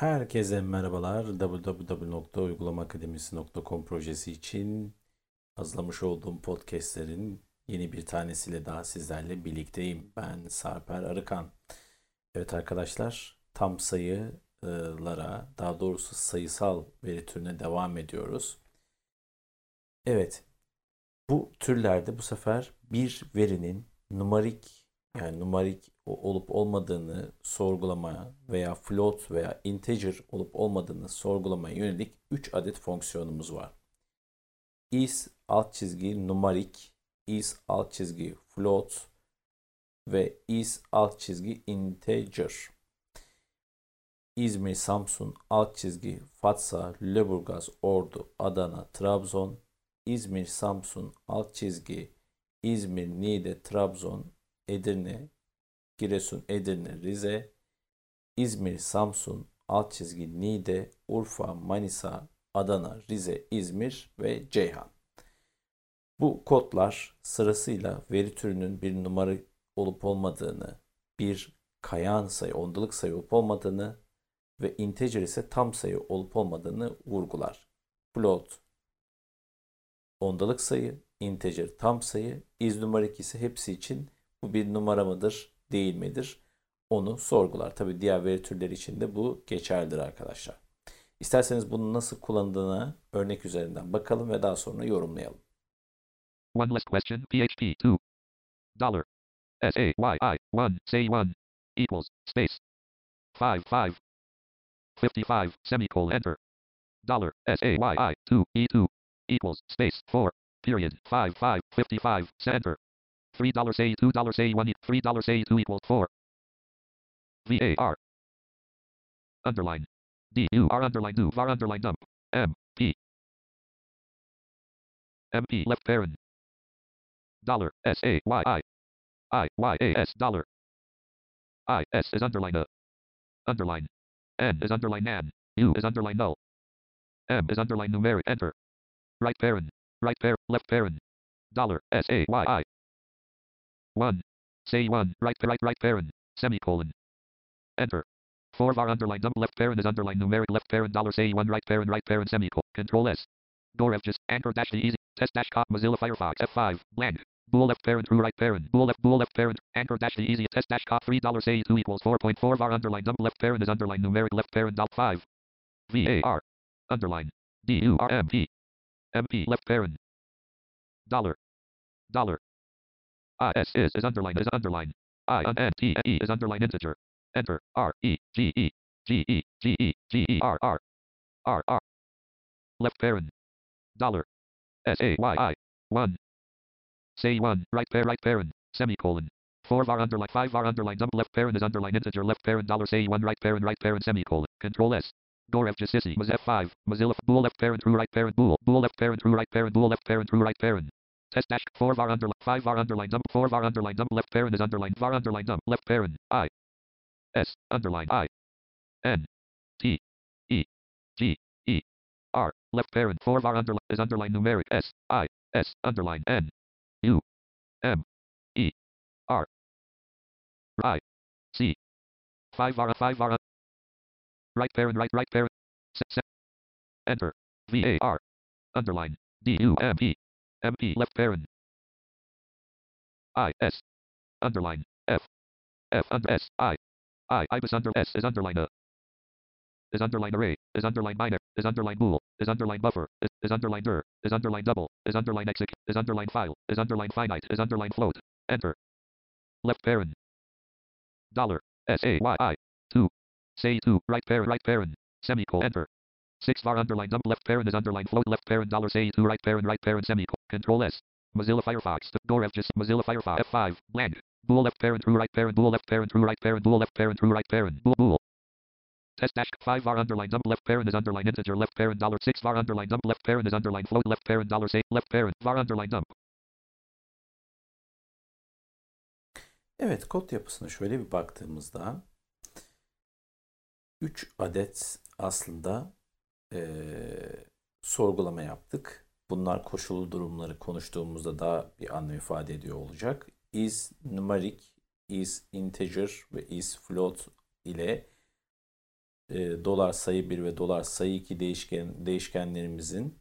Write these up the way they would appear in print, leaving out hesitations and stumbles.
Herkese merhabalar. www.uygulamaakademisi.com projesi için hazırlamış olduğum podcastlerin yeni bir tanesiyle daha sizlerle birlikteyim. Ben Sarper Arıkan. Evet arkadaşlar, tam sayılara, daha doğrusu sayısal veri türüne devam ediyoruz. Evet, bu türlerde bu sefer bir verinin numarik olup olmadığını sorgulamaya veya float veya integer olup olmadığını sorgulamaya yönelik 3 adet fonksiyonumuz var. Is alt çizgi numarik, is alt çizgi float ve is alt çizgi integer. İzmir, Samsun, alt çizgi, Fatsa, Lüleburgaz, Ordu, Adana, Trabzon, İzmir, Samsun, alt çizgi, İzmir, Niğde, Trabzon, Edirne, Giresun, Edirne, Rize, İzmir, Samsun, alt çizgi, Niğde, Urfa, Manisa, Adana, Rize, İzmir ve Ceyhan. Bu kodlar sırasıyla veri türünün bir numara olup olmadığını, bir kayan sayı, ondalık sayı olup olmadığını ve integer ise tam sayı olup olmadığını vurgular. Float ondalık sayı, integer tam sayı, iz numarik ise hepsi için bu bir numara mıdır, değil midir? Onu sorgular. Tabii diğer veri türleri için de bu geçerlidir arkadaşlar. İsterseniz bunu nasıl kullanıldığına örnek üzerinden bakalım ve daha sonra yorumlayalım. One list question PHP 2 dollar SAYI 1 say 1 equals space 5 5 55 semicolon enter dollar SAYI 2 E2 equals space 4 period 5 5 55 center $3 say $2 say 1 $3 say 2 equals 4 VAR underline DUR underline do var underline dump MP MP left parent dollar SAYI IYAS dollar IS is underline underline N is underline nan U is underline null M is underline numeric enter right parent left parent dollar SAYI 1 say 1 right parent semicolon enter 4 var underline dump left parent is underline numeric left parent dollar say 1 right parent semicolon control S door F just anchor dash the easy test dash cop Mozilla Firefox F5 blank bool left parent true right parent bool left parent anchor dash the easy test dash cop $3 say 2 equals 4.4 var underline dump left parent is underline numeric left parent dot 5 VAR underline DURMP MP left parent dollar IS is underline I N T E is underline integer enter REGEGEGERR left parent dollar SAYI 1 say 1 right parent semicolon 4 var underline 5 var underline dump left parent is underline integer left parent dollar say 1 right parent semicolon control S door F F5 Mozilla bool left parent true right parent bool left parent true right parent bool left parent true right parent test dash 4 var underline 5 var underline dump 4 var underline dump left parent is underline var underline dump left parent I S underline I N T E G E R left parent 4 var underline is underline numeric S I S underline N U M E R I C 5 var right parent enter VAR underline DUMP MP left parent IS underline F under S I ibis under S is underline a is underline array is underline binary is underline bool is underline buffer is underline dir is underline double is underline exec is underline file is underline finite is underline float enter left parent dollar SAYI 2 say 2 right parent semicolon enter 6 var underline dump left parent is underline float left parent dollar say 2 right parent semicolon control S Mozilla Firefox door F just Mozilla Firefox F5 blank bool left parent true right parent bool left parent true right parent bool left parent true right parent bool test dash 5 var underline dump left parent is underline integer left parent dollar 6 var underline dump left parent is underline float left parent dollar say left parent var underline dump. Evet, kod yapısına şöyle bir baktığımızda 3 adet aslında sorgulama yaptık. Bunlar koşullu durumları konuştuğumuzda daha bir anlam ifade ediyor olacak. Is numeric, is integer ve is float ile dolar sayı 1 ve dolar sayı 2 değişkenlerimizin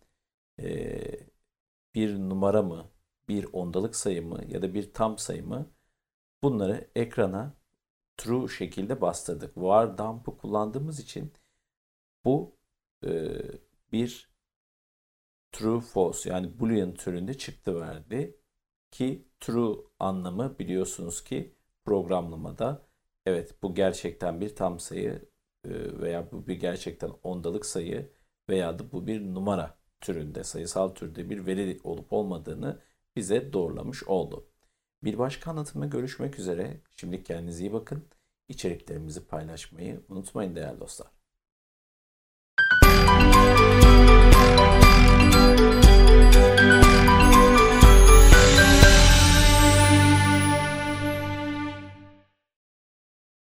bir numara mı, bir ondalık sayı mı ya da bir tam sayı mı, bunları ekrana true şekilde bastırdık. Var dump'ı kullandığımız için bu bir true false yani boolean türünde çıktı verdi ki true anlamı biliyorsunuz ki programlamada evet bu gerçekten bir tam sayı veya bu bir gerçekten ondalık sayı veya da bu bir numara türünde, sayısal türde bir veri olup olmadığını bize doğrulamış oldu. Bir başka anlatımda görüşmek üzere. Şimdilik kendinize iyi bakın. İçeriklerimizi paylaşmayı unutmayın değerli dostlar.